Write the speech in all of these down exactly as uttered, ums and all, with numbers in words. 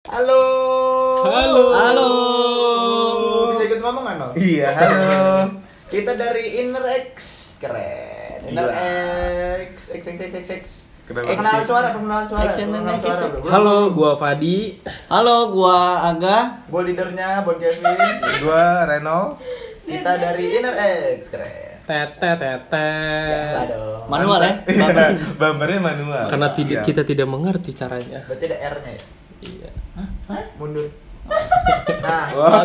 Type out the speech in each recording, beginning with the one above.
Halo. Halo. Halo. Bisa ikut ngomong kan, Nol? Iya, halo. Kita dari Inner X. Keren. Inner Gila. X. X X X X X. Keren Perkenalan banget. suara, perkenalan suara. X and perkenalan X. suara, bro. Halo, gua Fadi. Halo, gua Aga. Gua leadernya Bon Kevin. Gua Renol. Kita dari Inner X. Keren. Tete tete. Ya, dong. Manual ya? Iya, bumpernya manual. Karena tidak Siap. kita tidak mengerti caranya. Berarti ada R-nya ya? Iya. Mundur. Nah,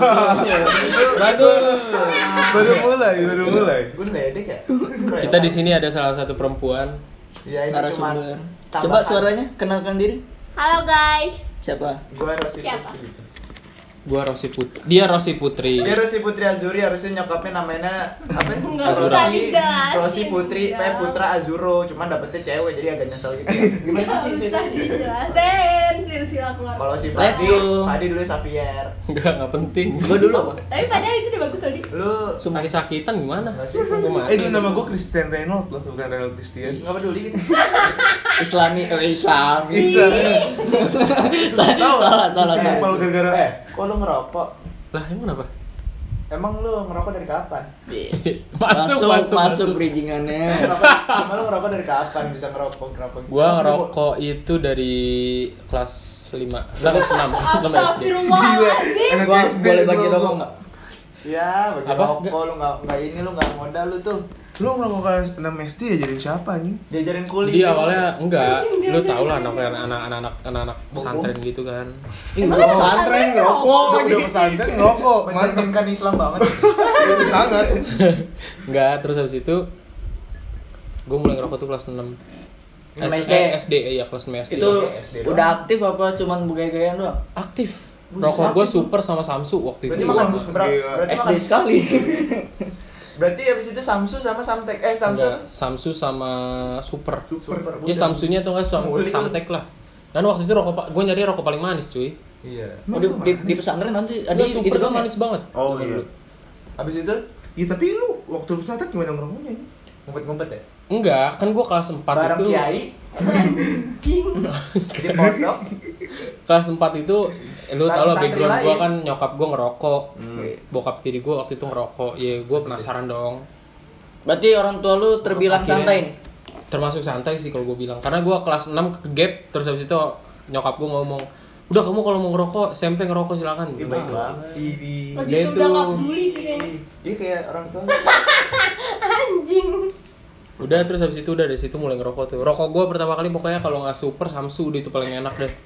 Bagus. Baru mulai, baru mulai. gue ledek ya? Keren. Kita di sini ada salah satu perempuan. Ya ini cuma Narasumber. Coba suaranya, kenalkan diri. Halo guys. Siapa? Gua Rosi Siapa? Putri. Gua Rosi Putri. Dia Rosi Putri. Dia Rosi Putri Azuri, harusnya nyokapnya namanya apa? Nggak usah Rosi, dijelasin. Rosi Putri, P Udah. Putra Azuro, cuman dapetnya cewek jadi agak nyesel gitu. Gimana sih? Nggak Ci? usah dijelasin silsilah keluarga. Kalau si Let's Fadi, go. Fadi dulu Xavier. Enggak, enggak penting. Gua dulu apa? Tapi padahal itu udah bagus tadi. Lu Sakit-sakitan gimana? Enggak sih? Gua mati. Eh, itu nama gua Christian Reynolds loh, bukan Reynolds Christian. Enggak peduli gitu. Islami, eh Islami. Bisa. Tahu Salah, salah, Simpel salah. gara-gara Eh, kok lu ngerokok? Lah, emang apa? Emang lu ngerokok dari kapan? Masuk, masuk, masuk, masuk. bridgingannya. Ngerokok, emang lu ngerokok dari kapan bisa ngerokok ngerokok? gitu? Gua ngerokok itu dari kelas lima, kelas enam, kelas enam S D. Astagfirullahaladzim. Anak Gua S D boleh bagi ngerokok. rokok enggak? Ya, bagi Apa? rokok lu enggak enggak ini lu enggak modal lu tuh. Lu ngerokok kelas enam S D ya jadi siapa anjing? Diajarin kuliah. Jadi awalnya enggak, lu tau lah anak anak-anak anak-anak pesantren gitu kan. Ih, gua pesantren ngerokok. Udah udah pesantren ngerokok, mantep mencerminkan Islam banget. sangat. Enggak, terus habis itu gue mulai ngerokok tuh kelas enam. enam S- S D. eh, S D ya, kelas enam S D. Itu S D doang. udah aktif apa cuman begaya-gayaan doang? Aktif. Rokok gue super sama Samsu waktu Berarti itu. makan Wah, ber- gila. berarti S D makan. sekali. Berarti habis itu Samsu sama Samtek. Eh, Samsu. Enggak, Samsu sama Super. Super. Ya Samsunya tuh enggak Sam- Mulik lu. Samtek lah. Dan waktu itu rokok gue nyari rokok paling manis cuy. Iya. Oh, di, di, di pesantren nanti ada Dia gitu super doang ya? manis banget. Oh iya. Habis itu Iya, tapi lu waktu pesantren gimana ngerokoknya? anjing? ngumpet-ngumpet ya? Enggak, kan gue kelas empat Bareng itu. kiai Anjing. di pondok. Kelas empat itu eh, lu tau Bareng lah santri background gue lain. kan nyokap gue ngerokok. Hmm. Bokap tiri gue waktu itu ngerokok. Ya gue penasaran dong. Berarti orang tua lu terbilang Akhirnya- santai nih? Termasuk santai sih kalau gue bilang. Karena gue kelas enam ke gap terus habis itu nyokap gue ngomong, "Udah kamu kalau mau ngerokok, S M P ngerokok silakan." Ih, Gitu. baik banget. Ini. Lagi Dia itu udah tuh- nggak peduli sih kayaknya. Iya kayak orang tua. Anjing. Udah terus habis itu udah dari situ mulai ngerokok tuh. Rokok gue pertama kali pokoknya kalau nggak Super Samsu udah itu paling enak deh.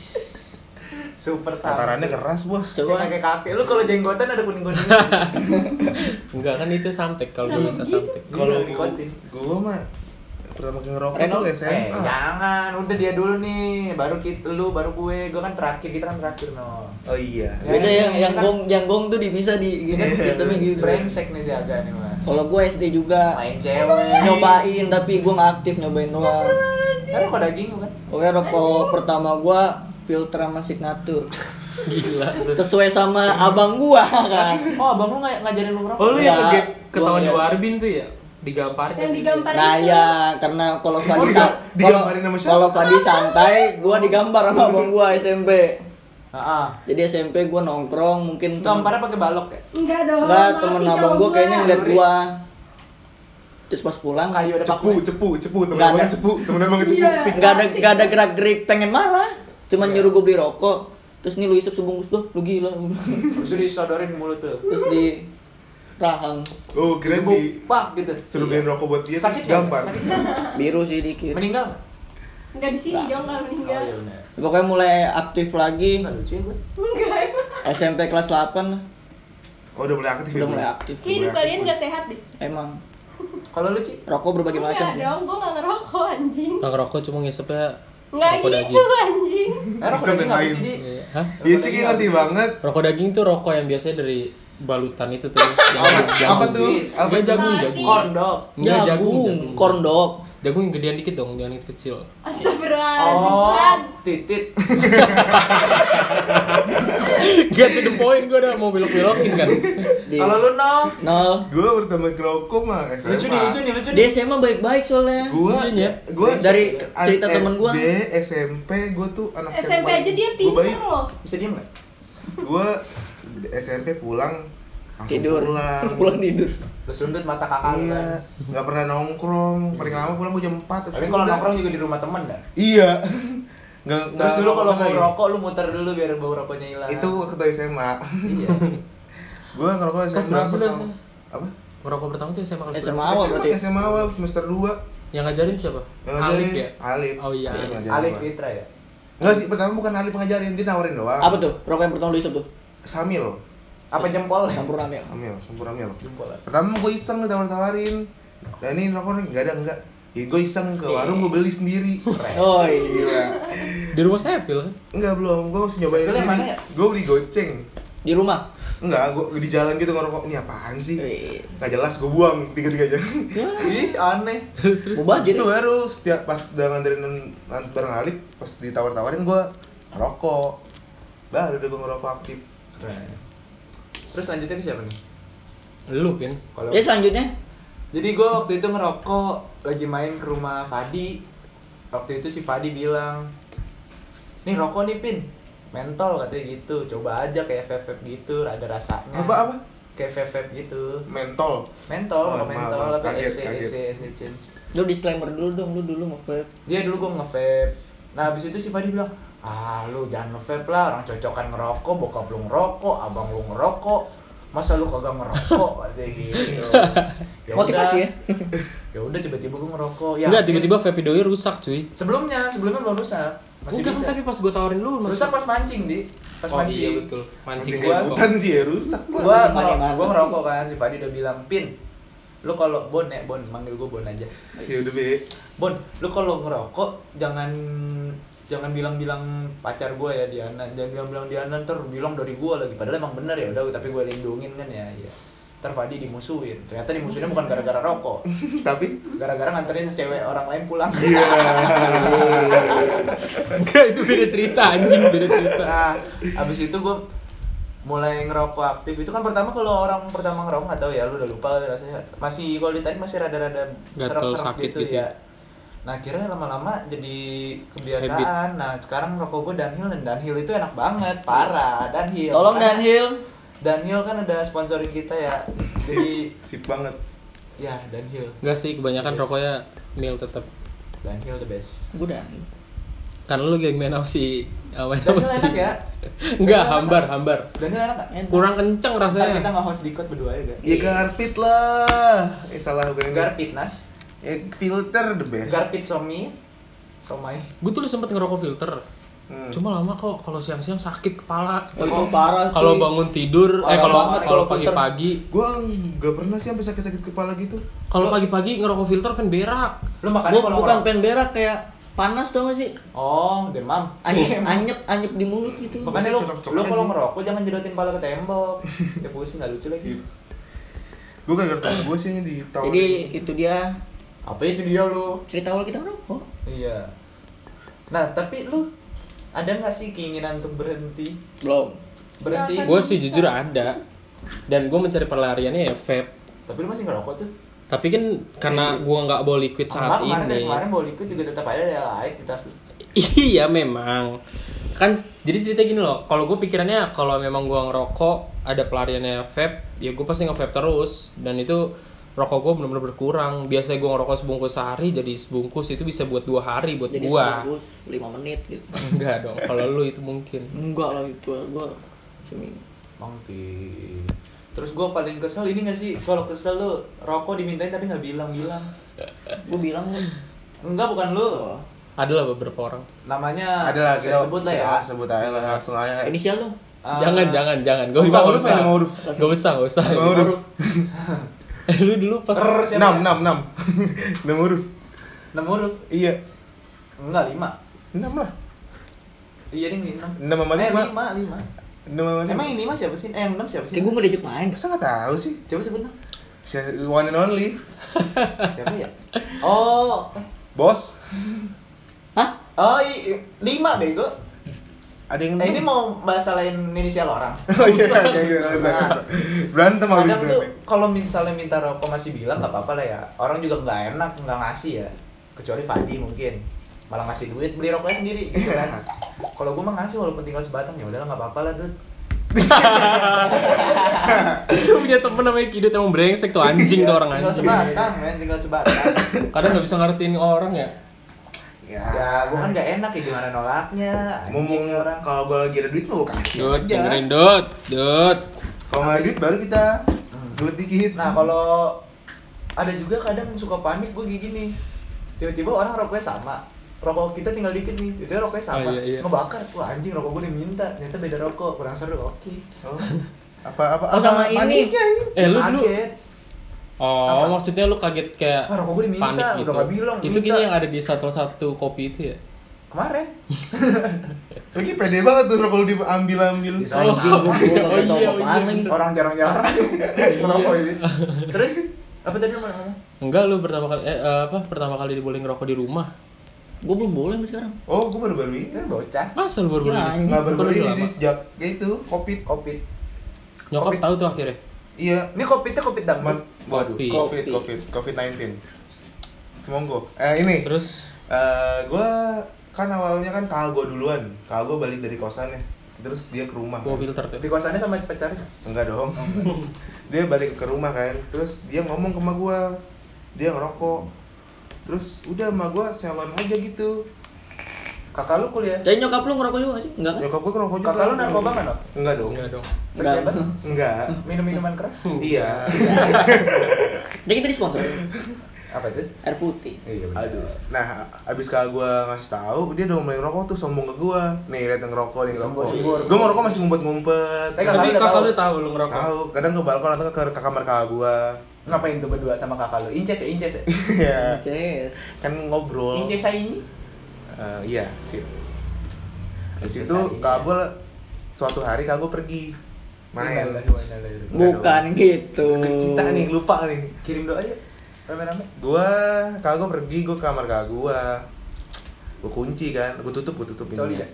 Super Samsu. Tatarannya keras, Bos. Coba Coba. kakek kakek lu kalau jenggotan ada kuning-kuning. Enggak kan itu Samtek kalau gue bisa Gitu. Samtek. Kalau Iya, dikotin. gua mah pertama kali ngerokok Renol? tuh S M Eh, A. jangan, udah dia dulu nih, baru kita, lu, baru gue, gue kan terakhir, kita kan terakhir no. Oh iya. Beda yang yang kan gong yang gong tuh dipisah di gitu Iya. sistemnya gitu. brengsek nih si Aga nih mah. Kalau gue S D juga Main cewek. nyobain tapi gue nggak aktif nyobain doang. Kan kok daging kan? Oke, rokok pertama gue filter sama signature. Gila. Sesuai sama abang gua kan. Oh, abang lu nggak ngajarin lu ngerokok? Oh lu Ya, yang ke gap gua ketahuan di ngeliat. Warbin tuh ya? Digamparin Yang nggak sih? digampar Nah itu. ya, karena kalau Fadi Oh, sa- diga- kalau digambarin sama siapa? kalau Fadi santai, gua digambar sama abang gua S M P. Heeh. Jadi S M P gua nongkrong mungkin temen- Gambarnya pakai balok ya? Enggak dong. Enggak, maafin temen cowok abang gua kayaknya ngeliat Luri. gua. Terus pas pulang Kayu ada Cepu, paku. cepu, cepu, temen Nggak abangnya ada. cepu, temen abangnya cepu. Iya. Fix. nggak ada nggak ada gerak-gerik pengen marah. Cuman Iya. nyuruh gua beli rokok. Terus nih lu isep sebungkus doh, lu gila. Terus disodorin mulut tuh. Terus di rahang Oh, kira di Pak gitu. suruh beliin rokok buat dia Sakit terus nggak? gampar. Sakit nggak? biru sih dikit. Meninggal nggak? Enggak di sini dong kalau Oh meninggal. iya benar. Pokoknya mulai aktif lagi Nggak lucu ya gue. Enggak emang. S M P kelas delapan lah. Oh, udah mulai aktif ya. Udah Bu? mulai aktif. Kayak hidup kalian enggak sehat deh. Emang Kalau lu Ci? rokok berbagai macam Enggak sih. dong, gua enggak ngerokok anjing. Nggak ngerokok cuma ngisepnya Enggak rokok gitu daging. anjing. Eh, rokok Bisa daging apa main. sih, Di? Iya. Hah? Iya sih, kayak ngerti banget. Rokok daging tuh rokok yang biasanya dari balutan itu tuh. Apa, apa tuh? Apa Enggak tuh? jagung, Apa jagung. sih? Corn dog. Enggak jagung, Jagung, jagung. corn dog. Jagung yang gedean dikit dong, jangan yang kecil. Astagfirullahaladzim. Oh, Kan. titit. Get to the point, gue udah mau belok-belokin kan. Di- Kalau lu nol. Nol. Gue pertama ngerokok mah S M A. Lucu nih, lucu nih, lucu Di nih. S M A baik-baik soalnya. Gue Lucunya. gue Dari cerita temen gua. S D, S M P gue tuh anak S M P aja dia Gue pinter baik. loh. Bisa diem nggak? Gue S M P pulang langsung Tidur. pulang. Pulang tidur. Lu sundut mata kakak lu Iya, kan. nggak pernah nongkrong. Paling lama pulang gue jam empat. Tapi kalau nongkrong juga di rumah temen kan. Iya. Nggak Terus nggak dulu kalau nongkrong mau lagi. rokok lu muter dulu biar bau rokoknya hilang. Itu waktu S M A. Iya. Gue ngerokok S Kelas M A berapa lu? pertama. Apa? Ngerokok pertama tuh S M A kelas S M A berapa? awal S M A, berarti. S M A awal semester dua. Yang ngajarin siapa? Yang ngajarin Alif ya? Alif. Oh iya. Alif ngajarin Alif gua. Fitra ya. Enggak sih, pertama bukan Alif ngajarin, dia nawarin doang. Apa tuh? Rokok yang pertama lu isep tuh? Samil. Apa jempol? Sampurna ya. Samil, sempurna Mil. Jempol. Pertama gue iseng ditawar-tawarin. Dan ini rokok nih enggak ada enggak. Ya gue iseng ke warung gue beli sendiri. Oh iya. Gila. Di rumah Sepil kan? Enggak belum, gue masih nyobain Sepil yang sendiri. mana ya? Gue beli goceng. Di rumah. Enggak, gue di jalan gitu ngerokok. Ini apaan sih? Wih. Nggak jelas, gue buang tiga-tiganya. Ih, aneh. Terus terus. Ubah Jadi jadi. baru setiap pas udah nganterin bareng Alif, pas ditawar-tawarin gue ngerokok. Baru udah gue ngerokok aktif. Keren. Terus lanjutnya ke siapa nih? Lu Pin. Kalau Ya selanjutnya. Jadi gue waktu itu ngerokok lagi main ke rumah Fadi. Waktu itu si Fadi bilang, nih rokok nih Pin, mentol katanya gitu. Coba aja kayak vape vape gitu, ada rasanya. Apa apa? Kayak vape vape gitu. Mentol. Mentol, Oh, rokok maaf, mentol, maaf. apa Kaget, S C kaget. S C S C change. Lu disclaimer dulu dong, lu dulu nge-vape. Dia dulu gue nge-vape. Nah habis itu si Fadi bilang, ah lu jangan nge-vape lah, orang cocokan ngerokok, bokap lu ngerokok, abang lu ngerokok, masa lu kagak ngerokok katanya gitu. Ya Motivasi udah. ya. Ya udah tiba-tiba gue ngerokok. Ya, Enggak, tiba-tiba vape doi rusak cuy. sebelumnya sebelumnya belum rusak. Masih Enggak kan bisa. tapi pas gue tawarin lu masih. Rusak pas mancing di. Pas Oh mancing. iya betul. Mancing Mancing gua- kayak hutan sih ya, rusak. Gua Mancing ngerokok, mana-mana. gua ngerokok kan, si Fadi udah bilang, "Pin, lu kalau Bon ya, Bon, manggil gua Bon aja. Ya udah be. Bon, lu kalau ngerokok jangan jangan bilang-bilang pacar gua ya Diana, jangan bilang-bilang Diana ntar bilang dari gua lagi. Padahal emang bener ya udah, tapi gua lindungin kan ya. Ya. Ntar Fadi dimusuhin. Ternyata dimusuhinnya bukan gara-gara rokok, Tapi gara-gara nganterin cewek orang lain pulang. iya. Enggak, itu beda cerita anjing, beda cerita. Nah, abis itu gue mulai ngerokok aktif. Itu kan pertama kalau orang pertama ngerokok nggak tahu ya, lu udah lupa rasanya. Masih kalau ditarik masih rada-rada Gatel, serak-serak sakit gitu, gitu ya. ya. Nah, akhirnya lama-lama jadi kebiasaan. Nah, sekarang rokok gue Dunhill, dan Dunhill itu enak banget, parah. Dunhill. Tolong Makanya Dunhill. Dunhill kan ada sponsorin kita ya. Jadi Sip banget. ya Dunhill. Enggak sih, kebanyakan Yes. rokoknya mil tetap. Dunhill the best. Gue udah. Karena lu geng main apa sih? Apa Dunhill sih? enak ya? Enggak, Dunhill hambar, enak. hambar. Dunhill enak nggak? Kurang kenceng Ntar rasanya. kita nge-host di berdua ya, gak? Ya garpit lah. Eh salah gue ini. Garpitnas. Ya filter the best. Garpit somi, somai. Gue tuh sempet ngerokok filter. Hmm. Cuma lama kok kalau siang-siang sakit kepala. Oh itu parah. Kalau cuy. bangun tidur, eh Parah kalau banget kalau kalau filter. pagi-pagi, Gue nggak pernah sih sampai sakit-sakit kepala gitu. kalau pagi-pagi ngerokok filter kan berak. Lu makannya Bu- kalau bukan ngerokok- pen berak kayak panas tau gak sih? Oh, demam. Anyep, anyep, anyep di mulut gitu. Makanya lu, Cocok-cocok lu aja kalau sih. ngerokok jangan jedotin pala ke tembok. Ya pusing nggak lucu lagi. Gue gak ngerti gue sih ini di tahun. Jadi itu dia Apa itu dia lu? cerita awal kita merokok. Iya. Nah, tapi lu ada nggak sih keinginan untuk berhenti? Belum. Berhenti. Nggak akan. Gue sih jujur ada. Dan gue mencari pelariannya ya vape. Tapi lu masih ngerokok tuh. Tapi kan karena gue nggak bawa liquid Enggak, saat kemarin dari ini. kemarin bawa liquid juga tetap ada ada ais di tas lu. Iya memang. Kan jadi cerita gini loh. Kalau gue pikirannya kalau memang gue ngerokok ada pelariannya vape, ya gue pasti nge-vape terus. Dan itu rokok gue benar-benar berkurang. Biasanya gue ngerokok sebungkus sehari, jadi sebungkus itu bisa buat dua hari buat Jadi gue. sebungkus lima menit gitu. Enggak dong. Kalau lu itu mungkin. Enggak lah itu gua seminggu. Mangti. Terus gue paling kesel ini gak sih, kalau kesel lu rokok dimintain tapi nggak bilang-bilang. Gua bilang lu. Enggak, bukan lu. Oh. Ada lah beberapa orang. Namanya Ada lah saya kita sebut lah ya. kita sebut aja lah langsung aja. Inisial dong. Ah, Jangan, jangan, jangan. Gak usah, Nama gak huruf usah. ya, nama huruf. Gak usah, gak usah. Nama huruf. Eh, lu dulu pas Er, siapa Enam, ya? enam, enam. Enam huruf. Enam huruf. Iya. Enggak, lima. Enam lah. Iya nih enam. Enam sama Eh, lima. lima, lima. Enam sama lima. Emang yang lima siapa sih? Eh, yang enam siapa sih? Kayak gua nggak diajak main. Masa nggak tahu sih? Coba sebut dong. Si- One and only. Siapa ya? Oh, Bos. Hah? oh i- lima bego. Ada yang Nah ini mau masalahin inisial orang. Oh iya, oke, oke, nggak usah, nggak usah. Berantem habis Kadang tuh nanti. kalau misalnya minta rokok masih bilang nggak apa-apa lah ya. Orang juga nggak enak nggak ngasih ya. Kecuali Fadi mungkin malah ngasih duit beli rokoknya sendiri gitu kan. Kalau gue mah ngasih walaupun tinggal sebatang ya udahlah nggak apa-apa lah Dut. Lu punya temen namanya Kidut emang brengsek tuh anjing tuh orang Tinggal anjing. sebatang men, tinggal sebatang. Kadang nggak bisa ngertiin orang ya. Ya, Ya gue kan nggak enak ya gimana nolaknya. ngomong Anjing orang. kalau gue lagi ada duit mau kasih Dut, aja. dengerin Dut, Dut. Kalau nggak ada duit baru kita gelet dikit. Nah kalau ada juga kadang suka panik gue kayak gini. Tiba-tiba orang rokoknya sama. Rokok kita tinggal dikit nih, itu rokoknya sama. Oh, iya, iya. Ngebakar, wah anjing rokok gue diminta. Ternyata beda rokok, kurang seru. Oke. Oh. Apa apa Oh, apa sama ini. paniknya anjing? Eh lu dulu. Kaget. Oh, Apa? maksudnya lu kaget kayak Wah, rokok gue diminta, panik udah gitu. nggak bilang, Itu minta. kayaknya yang ada di satu satu kopi itu ya. Kemarin. Lagi pede banget tuh kalau diambil-ambil. Di Oh. Anjing gua gua Oh, kagak tahu iya, apaan iya. lagi. Orang jarang-jarang ngerokok ini. Terus apa tadi lu mau ngomong? Enggak, lu pertama kali eh apa pertama kali dibolehin ngerokok di rumah. Gua belum boleh sampai sekarang. Oh, gue baru-baru ini. Kan bocah. Masa lu baru Ya, boleh? anjing. Nggak baru-baru Kok ini udah sih lama? sejak ya itu covid. Covid. Nyokap Kopi. tahu tuh akhirnya. Iya. Ini covidnya covid dangdut. Mas, waduh, Kopi. covid, covid, covid sembilan belas. Semonggo. Eh ini. Terus Eh, gue kan awalnya kan kakak gue duluan. Kakak gue balik dari kosannya. Terus dia ke rumah. bawa kan. filter tuh. Di kosannya sama pacarnya. Enggak dong. Dia balik ke rumah kan. Terus dia ngomong ke emak gue. Dia ngerokok. Terus udah emak gue selon aja gitu. Kakak lu kuliah. Jadi nyokap lu ngerokok juga gak sih? Enggak kan? Nyokap gue ngerokok juga. Kakak lu narkoba kan, Dok? Enggak dong. Enggak dong. Seks bebas? Enggak. Minum-minuman keras? Iya. Jadi kita disponsor Apa itu? air putih. Iya benar. Aduh. Nah, abis kakak gue ngasih tahu, dia udah mulai ngerokok tuh sombong ke gue. Nih, lihat yang ngerokok, nih ngerokok. Sembur. Gue ngerokok masih ngumpet-ngumpet. Eh, kakak Tapi lu udah kakak tahu? lu tahu lu ngerokok. Tahu, kadang ke balkon atau ke, ke kamar kakak gue. Ngapain tuh berdua sama kakak lu? Inces ya, inces ya? Iya. Yes. Kan ngobrol. Inces saya ini? Eh, iya, sip. Habis Inces itu saya. kakak gue suatu hari kakak gue pergi main. Bukan gitu. Cinta nih, lupa nih. Kirim doa aja. Rame-rame. Gua kakak gue pergi, gue ke kamar kakak gue. Gue kunci kan, gue tutup, gue tutup Coli pintunya. ya?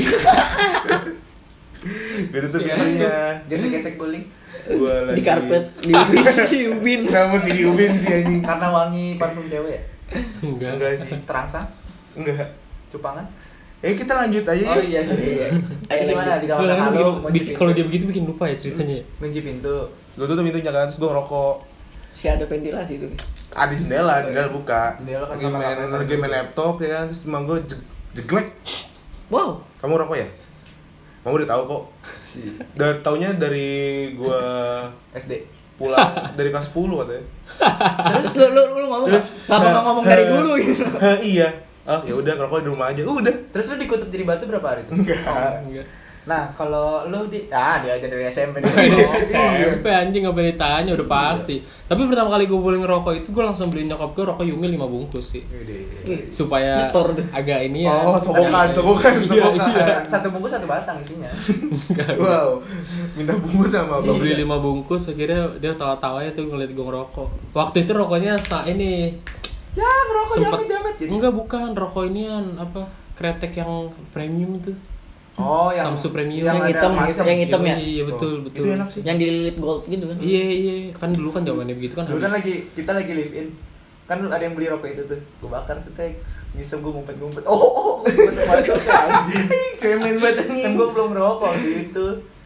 Gue tutup Siap. pintunya. Gesek-gesek guling. Gue lagi Di karpet, di ubin, di ubin. Kenapa mesti diubin sih anjing? Karena wangi parfum cewek ya? Enggak. Enggak sih. Terangsang? Enggak. Cupangan? Eh kita lanjut aja Oh yuk. iya iya iya. Ayo Gimana di Kalau kamar kakak lu? bikin- kunci bikin- pintu. kalau dia begitu bikin lupa ya ceritanya. Kunci pintu. Gue tutup pintunya kan, terus gue ngerokok. Si ada ventilasi tuh. Ada jendela, jendela buka. Jendela kan Lagi kamar main, kakak lagi main laptop ya kan, terus emang gue jeg- jeglek. Wow. Kamu rokok ya? Kamu udah tahu kok. Si Dari taunya dari gue S D. pulang dari kelas sepuluh katanya. Terus lu lu, lu ngomong Terus nggak ngomong ngomong dari dulu gitu. Iya. Oh, ya udah ngerokok di rumah aja. Udah. Terus lu dikutuk jadi batu berapa hari itu? Enggak. Enggak. Nah, kalau lu di ah dia aja dari S M P nih. S M P anjing nggak boleh ditanya udah pasti. Tapi pertama kali gue boleh ngerokok itu gue langsung beliin nyokap gue rokok Yumi lima bungkus sih. Ih, Supaya nyetor tuh. agak ini ya. Oh, sokokan, sokokan, Iya, sokokan. iya. Satu bungkus satu batang isinya. Wow. Minta bungkus sama Gue abang. beli lima bungkus akhirnya dia tawa-tawa ya tuh ngeliat gue ngerokok. Waktu itu rokoknya sa ini Ya, ngerokok sempet jamet-jamet gitu. enggak bukan rokok inian apa kretek yang premium tuh. Oh, yang Samsu Premium. Yang ada hitam, emasnya. yang hitam ya? Iya betul betul. Itu enak sih. Yang dililit gold gitu kan. Iya iya kan dulu kan zamannya begitu kan. Dulu kan lagi kita lagi live in. Kan ada yang beli rokok itu tuh. Gue bakar setek. Ngisem gue ngumpet-ngumpet. Oh, oh, oh. Ngumpet-ngumpet anjing. Ih, cemen banget Kan anjing. gue belum rokok gitu.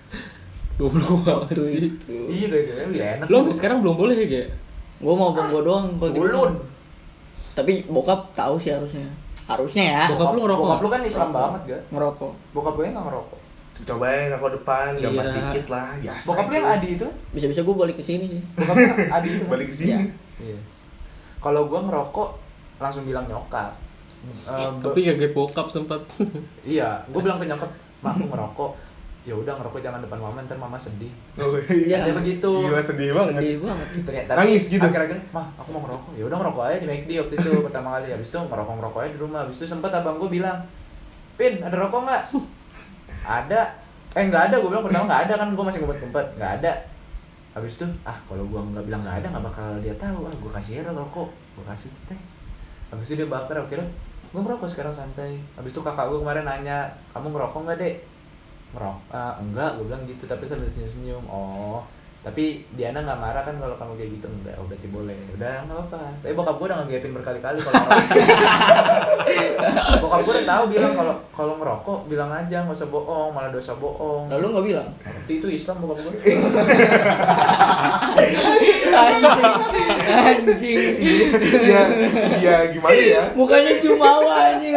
Goblok banget Waktu sih. itu. Iya, udah udah lebih enak. Lo sampai sekarang belum boleh ya, Ge? Gua mau bang gua doang kalau gitu. Ulun. Tapi bokap tahu sih harusnya. Harusnya ya. Bokap lu ngerokok Bokap nggak? lu kan Islam banget, ga? Ngerokok. Bokap gue nggak ngerokok. Cobain aku depan, gambar Iya. dikit lah, biasa. Bokap lu yang itu. Adi itu? Bisa-bisa gua balik ke sini sih. Bokap lu yang Adi itu. kan? Balik ke sini. Iya. Kalau gua ngerokok langsung bilang nyokap. Eh, Tapi kaget bokap sempat. iya, gua bilang ke nyokap, "Mak, aku ngerokok." Ya udah ngerokok jangan depan mama, ntar mama sedih. Oh, Iya. Saya begitu. Gila sedih banget. Sedih banget. Ternyata Nangis gitu? Akhir-akhir, "Mah, aku mau ngerokok." Ya udah ngerokok aja di McD waktu itu pertama kali. Habis itu ngerokok-ngerokok aja di rumah. Habis itu sempat abang gua bilang, "Pin, ada rokok nggak?" Ada. Eh nggak ada, gua bilang pertama nggak ada kan, gua masih ngumpet-ngumpet. Nggak ada. Habis itu, ah kalau gua nggak bilang nggak ada nggak bakal dia tahu. Ah, gua kasih aja rokok, gua kasih teh. Habis itu dia bakar, akhirnya gua ngerokok sekarang santai. Habis itu kakak gua kemarin nanya, "Kamu ngerokok nggak, Dek?" ngerok ah, enggak gue bilang gitu tapi sambil senyum-senyum. Oh tapi Diana nggak marah kan kalau kamu kayak gitu? Enggak, oh berarti boleh, udah nggak apa-apa. Tapi bokap gue udah ngegapin berkali-kali kalau ngerokok. Bokap gue udah tahu bilang kalau kalau ngerokok bilang aja nggak usah bohong, malah dosa bohong. Lalu nggak bilang? Nanti itu Islam bokap gue. Anjing, anjing. ya ya gimana ya. Mukanya jumawa anjing.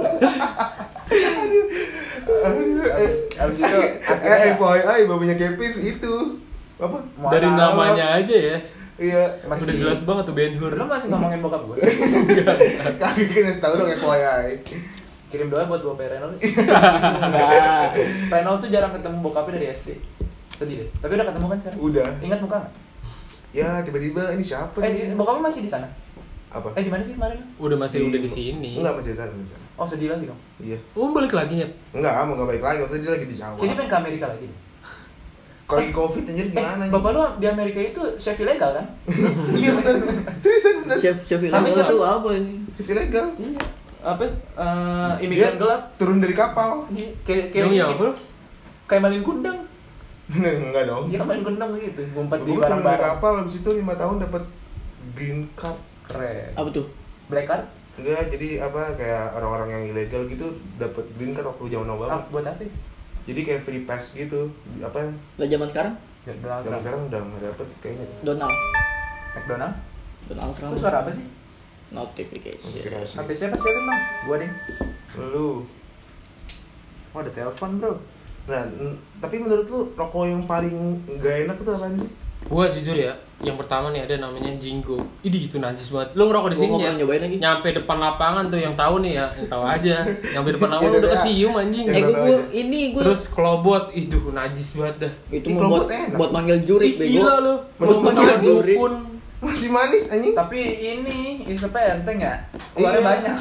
Aduh, eh, Abis itu eh, akhirnya F Y I babanya Kevin itu apa? Mohon Dari maaf. namanya aja ya. Iya. Masih- Udah jelas banget tuh Ben Hur. Lu masih ngomongin bokap gue? Kaki kan harus tahu dong F Y I. Kirim doa buat bokap Renol. Enggak. Renol tuh jarang ketemu bokapnya dari S D. Sedih deh. Tapi udah ketemu kan sekarang? Udah. Ingat muka nggak? Ya tiba-tiba ini siapa Eh, nih? di- bokapnya masih di sana? Apa? Eh, di mana sih kemarin? Udah masih Di- udah di sini. Enggak masih di sana, masih di sana. Oh, sedih lagi dong. Iya. Oh, balik lagi ya. Enggak, mau enggak balik lagi, waktu itu dia lagi di Jawa. Jadi pengen ke Amerika lagi. Kalau lagi Covid anjir gimana? Eh, bapak lu di Amerika itu chef ilegal kan? Iya benar. Seriusan benar. Chef chef Namanya ilegal siapa? tuh apa ini? Chef ilegal. Iya. Apa? Eh, imigran Dia gelap. turun dari kapal. Iya, kayak kayak Yang iya si- apa lu? kayak malin kundang. Enggak dong. Iya, malin kundang gitu. Ngumpet di Gue turun dari barang-barang. kapal habis itu lima tahun dapat green card. Keren. Apa tuh? Black card? Enggak, jadi apa kayak orang-orang yang ilegal gitu dapat green card waktu zaman Obama. Ah, buat apa? Jadi kayak free pass gitu. Apa? Lah zaman sekarang Ya, Donald Zaman Trump. sekarang udah enggak dapet kayaknya. Donald. McDonald? Donald Trump. Itu suara apa sih? Notification. Notifikasi. Sampai siapa sih itu, Bang? Gua deh. Lu. Oh, ada telepon, Bro. Nah, n- tapi menurut lu rokok yang paling enggak enak itu apaan sih? Gua jujur ya, yang pertama nih ada namanya Jingo. Idi itu najis banget. Lu ngerokok di Gua sini nggak ya? pernah nyobain lagi. Nyampe depan lapangan tuh yang tahu nih ya, yang tahu aja. Nyampe depan lapangan Iya, udah iya. kecium anjing. Eh Yang gua, tahu gua aja. ini gua Terus kelobot, itu najis banget dah. itu Ih, mau kelobot buat enak. buat manggil jurik Ih, bego. gila lu. Masuk Mau manis. manggil dukun. Masih manis anjing. Tapi ini isepnya enteng ya. Keluarnya Iya. banyak.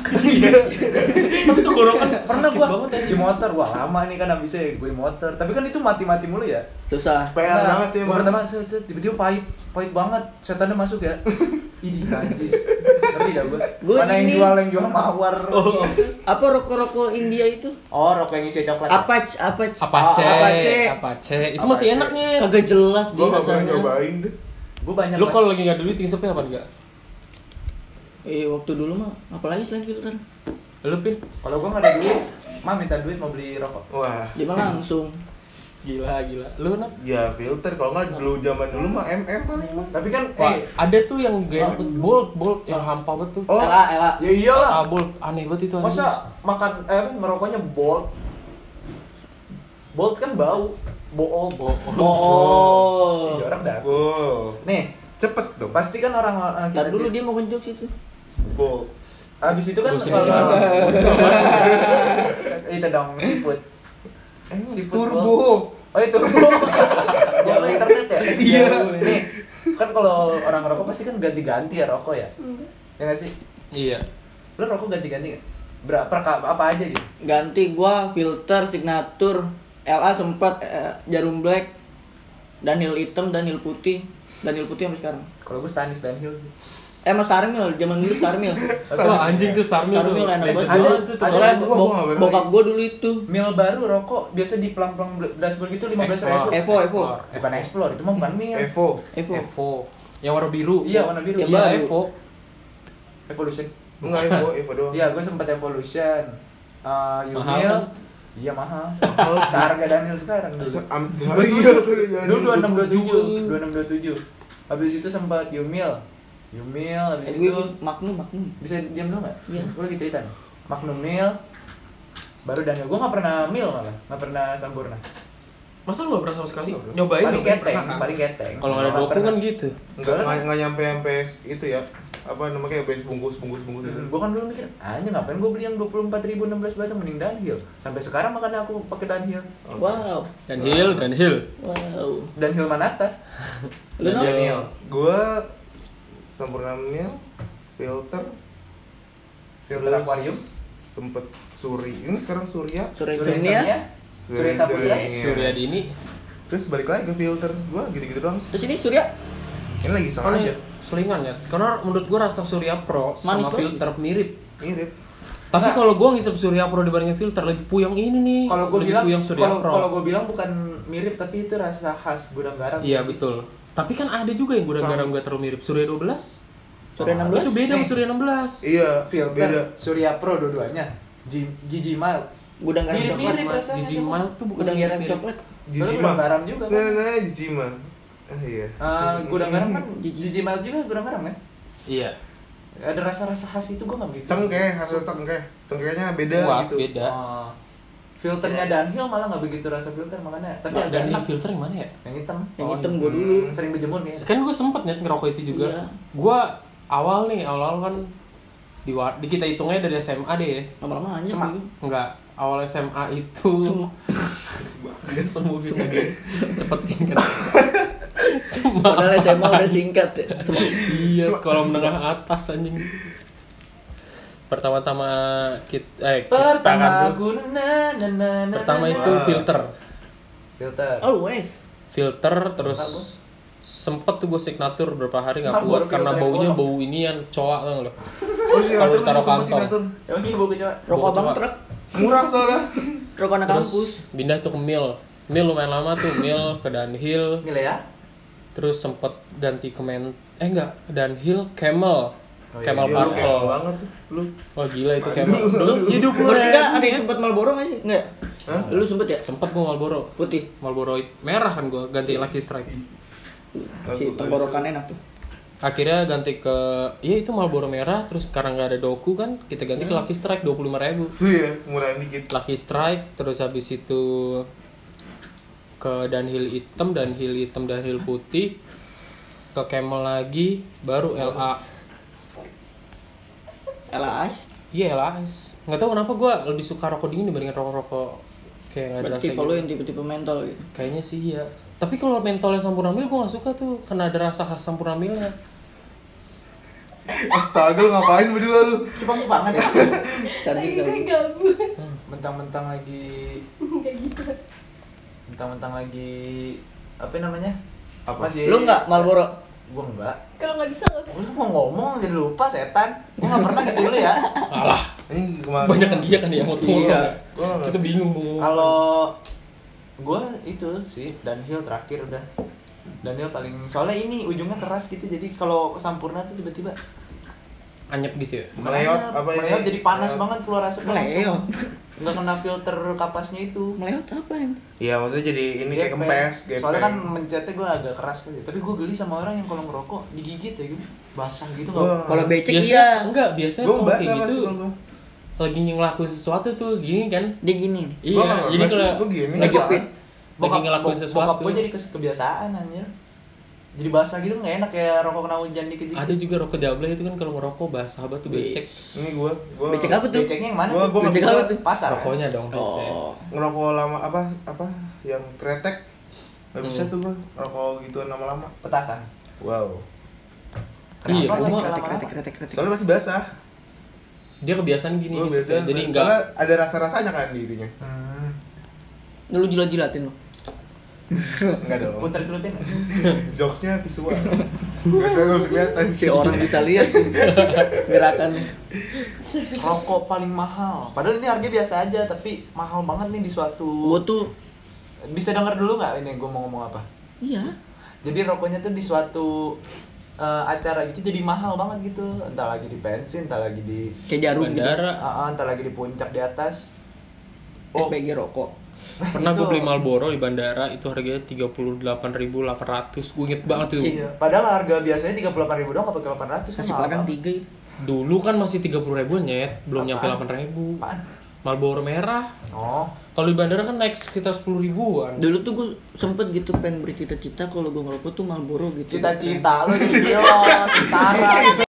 Tapi tuh gorokan Pernah sakit gua banget ya. di motor, wah lama nih kan habisnya gue di motor. Tapi kan itu mati-mati mulu ya. Susah. P R Nah, banget sih gua emang. pertama set, set, tiba-tiba pahit, pahit banget. Setannya masuk ya. Ini najis. Ngerti dah gua. Gua Mana yang ini- jual yang jual mawar. Oh. Apa rokok-rokok India itu? Oh, rokok yang isi coklat. ya? Apac, apac. Apa ce? Apa ce? Apa ce? Itu Apa masih ce? enaknya. Kagak jelas Gua dia enggak pernah rasanya. nyobain tuh. Gua banyak Lu pas- kalau lagi nggak duit ngisepnya apa enggak? Eh waktu dulu mah apalagi selain filter. Lu pin? kalau gua enggak ada duit, mah minta duit mau beli rokok. Wah. Dia mah langsung. Gila, gila. Lu nak? Ya filter kalau enggak dulu zaman dulu mah M M paling mah. Tapi kan Wah, eh ada tuh yang gak enak, bolt, bolt yang hampa banget tuh. Oh. Ela, ela. ya iyalah. Ah, bolt aneh banget itu anjing. Masa makan eh apa ngerokoknya bolt? Bolt kan bau. Bool. Oh. Ih, jorok dah. Wow. Nih, Cepet dong. pasti kan orang orang Ntar dulu dia mau ngejok situ. Wow. Habis itu kan Bosen kalau ini. itu dong siput. Eh, Siput turbo. Oh itu turbo. Jauh internet ya? Iya. Nih, kan kalau orang rokok pasti kan ganti-ganti ya rokok ya. Ya nggak sih? Iya. Lo rokok ganti-ganti nggak? Berapa apa aja gitu? Ganti gua filter signature L A sempat eh, jarum black, Daniel hitam, Daniel putih, Daniel putih sampai sekarang. Kalau gue Stanis dan Hill sih. Eh mas Starmil, zaman dulu Starmil. Wah, anjing tuh Starmil tuh. Starmil enak Legend banget. banget tuh. Ada- Soalnya ada- bo- gua- gua nggak pernah bokap gua dulu itu. Mil baru rokok biasa di pelang-pelang dashboard gitu lima belas ribu. Explore. Evo, Evo. Bukan Explore, itu mah bukan Mil. Evo. Evo. Evo. Yang warna biru. Iya, warna biru. Yang Iya, baru. Evo. Evolution. Enggak Evo, Evo doang. Iya, gue sempat Evolution. Uh, Mahal Yumil. kan? Iya mahal. Seharga Daniel sekarang dulu. Se- am- Iya, sorry, jangan Dulu dua enam dua tujuh, tujuh. dua enam dua tujuh. Habis itu sempat Yumil. Yumil habis Eh, gue itu Magnum, Magnum. bisa diam dulu nggak? Iya. Gue lagi cerita nih. Magnum Mil. Baru Daniel. Gue nggak pernah Mil malah, nggak pernah Sampurna. Masa lu gak pernah sama sekali? Masa nggak Nyobain paling dong, keteng, pernah kan? paling keteng. Kalau nggak ada Nggak doku pernah. kan gitu. Enggak enggak enggak nyampe sampai itu ya. Apa namanya kayak base bungkus bungkus bungkus itu. Hmm, gue kan dulu mikir, anjir ngapain gue beli yang dua puluh empat ribu enam belas batang mending Dunhill. Sampai sekarang makanya aku pakai Dunhill. Wow. Dan Hill, dan Hill. Wow. Dunhill Manata. Lu no? Daniel, gua Sampurna Mil, filter, Filter terus akuarium. Sempet Suri. Ini sekarang Surya. Surya Surya Insomnia. Insomnia. Surya Saputra. Iya. Surya Dini. Terus balik lagi ke filter. Gua gitu-gitu doang. sih. Terus ini Surya Ini lagi iseng Kan aja. selingan ya. Karena menurut gua rasa Surya Pro sama Manis banget. filter mirip. Mirip. Tapi Nggak. kalau gua ngisep Surya Pro dibandingin filter lebih puyeng ini nih. Kalau gue Lebih bilang, puyeng Surya kalau Pro. kalau gue bilang bukan mirip tapi itu rasa khas gudang garam. Iya sih. betul. Tapi kan ada juga yang gudang Sama. garam gak terlalu mirip. Surya dua belas. Surya enam belas. Itu beda sama Nih. Surya enam belas. Iya, Filter beda. Surya Pro dua-duanya. G- Gigi Mild. Gudang garam Mirip-mirip coklat. Mirip rasanya Gigi semua. Mild tuh bukan Gudang garam mirip. coklat. Jijima. Terus gudang garam juga kan? Nah, nah, Jijima. Ah iya. Ah, gudang garam kan Gigi. Gigi Mild juga gudang garam kan? Iya. Ada rasa-rasa khas itu gue nggak begitu. Cengkeh, hasil cengkeh. Cengkehnya beda Wah, gitu. beda. Oh. Filternya Dunhill malah nggak begitu rasa filter makanya. Tapi Nah, agak dan ini enak. filter yang mana ya? Yang hitam. Yang Oh, hitam iya. gue dulu. Hmm, sering berjemur kayaknya. Kan gue sempet net ngerokok itu juga. Iya. Gue awal nih, awal kan di, war- di kita hitungnya dari S M A deh ya. Lama-lama aja. Semak. gitu. Enggak, awal S M A itu Semua. Enggak semua bisa di cepetin kan. Semua. Padahal S M A udah singkat ya. Semua. Iya, sekolah menengah atas anjing. Pertama-tama kita eh kita Pertama kan dulu. gue na na na na. Pertama na, itu na. filter. filter. Always. Filter Apa, terus Bos? sempet tuh gue signatur beberapa hari nggak Ah, kuat baru karena filter baunya yang bau ini yang coak tau nggak lo. Oh, si Kalau Natur ditaruh sama si kantong. Natur. Emang ini bau kecoa. Rokok Gua bang coba. truk. Murah soalnya. Rokok anak kampus. Terus pindah tuh ke Mil. Mil lumayan lama tuh, Mil ke Dunhill. Milih ya? Terus sempet ganti ke men eh enggak, Dunhill Camel. Oh, iya. Camel Iya, lu Purple. kayak banget tuh. Lu. Wah gila itu Camel. Dulu hidup lu Bertiga Ren. ada yang sempet Marlboro nggak sih? Enggak. Hah? Lu sempet ya? Sempet gua Marlboro. Putih. Marlboro merah kan gua ganti Lucky Strike. Si tenggorokan enak tuh. Akhirnya ganti ke ya itu Marlboro merah terus karena nggak ada doku kan kita ganti ke Lucky Strike dua puluh lima ribu. Iya, murahan dikit. Lucky Strike terus habis itu ke Dunhill hitam, Dunhill hitam, Dunhill putih, ke Camel lagi, baru L A. L A S. Iya L A S. Nggak tahu kenapa gue lebih suka rokok dingin dibandingin rokok-rokok kayak nggak ada rasa Tipe lu gitu. yang tipe-tipe mentol gitu. Kayaknya sih iya. Tapi kalau mentolnya Sampurna Mil gue nggak suka tuh, karena ada rasa khas Sampurna Milnya. Astaga, lu ngapain berdua lu? Cuma banget ya. Cantik Lagi gue kali. gabut. Mentang-mentang lagi Kayak gitu. mentang-mentang lagi apa namanya? Apa? Masih Lu enggak Marlboro? Gua enggak. Kalau nggak bisa nggak bisa. Gua mau ngomong jadi lupa setan. Gua enggak pernah gitu dulu ya. Alah, Ini kemarin. banyak kan dia kan ya mau tuh. Iya. Gua nggak Kita ngerti. bingung mau ngomong. Kalau gua itu sih Dunhill terakhir udah. Dunhill paling soalnya ini ujungnya keras gitu jadi kalau Sampurna tuh tiba-tiba anyep gitu ya. Meleot Makanya apa ini? meleot jadi panas Meleot. banget keluar asapnya Meleot. langsung. Nggak kena filter kapasnya itu. Meleot apa yang? Iya, maksudnya jadi ini Dia kayak kempes, gepeng. Soalnya kan mencetnya gue agak keras gitu. Tapi gue geli sama orang yang kalau ngerokok digigit ya gitu. Basah gitu Wah. nggak. Kalau becek Biasanya iya. enggak, biasanya Gua kalau basah kayak pasti gitu kalau gua. lagi ngelakuin sesuatu tuh gini kan. Dia gini. nih. Iya, nggak jadi basah, kalau gua gini. lagi Gua fit, lagi Bokap, ngelakuin bok- sesuatu. Bokap gue jadi kes- kebiasaan anjir. Jadi basah gitu nggak enak kayak rokok kena hujan dikit-dikit. Ada juga rokok Jabla itu kan kalau ngerokok basah banget tuh becek. Ini gua, gua Becek apa tuh? Beceknya yang mana? Gua tuh? gua nggak Becek bisa apa tuh? Pasar. kan? Rokoknya dong becek. Oh. ngerokok lama apa apa yang kretek. Gak bisa Hmm. tuh gua rokok gituan lama-lama. Petasan. Wow. Iya, Kenapa gua nggak mah bisa Kretek kretek lama-lama? kretek kretek. Soalnya masih basah. Dia kebiasaan gini Gua gitu. biasa Jadi soalnya enggak ada rasa-rasanya kan di itunya. Hmm. Lu jilat-jilatin lu. Enggak dong. Putar celupin. Jokesnya visual. Gak usah, gak usah kelihatan. Si orang bisa lihat gerakan. Rokok paling mahal. Padahal ini harga biasa aja tapi mahal banget nih di suatu. Gua tuh Bisa denger dulu nggak ini gue mau ngomong apa? iya. Jadi rokoknya tuh di suatu eh, acara gitu jadi mahal banget gitu. Entah lagi di pensi, entah lagi di Kayak jarum gitu. bandara. ah, ah, entah lagi di puncak di atas. S P G rokok. Pernah Itu- gue beli Marlboro di bandara itu harganya tiga puluh delapan ribu delapan ratus. Gue inget banget tuh. Iya. Padahal harga biasanya tiga puluh delapan ribu doang, nggak pakai delapan ratus kan Kasih mahal padang banget. tiga itu. Dulu kan masih tiga puluh ribuan nyet, belum nyampe Apaan? delapan ribu. Apaan? Marlboro merah. Oh, Kalau di bandara kan naik sekitar sepuluh ribuan. Dulu tuh gue sempet gitu pengen bercita-cita kalau gue ngerokok tuh Marlboro gitu. cita-cita lu di Tara.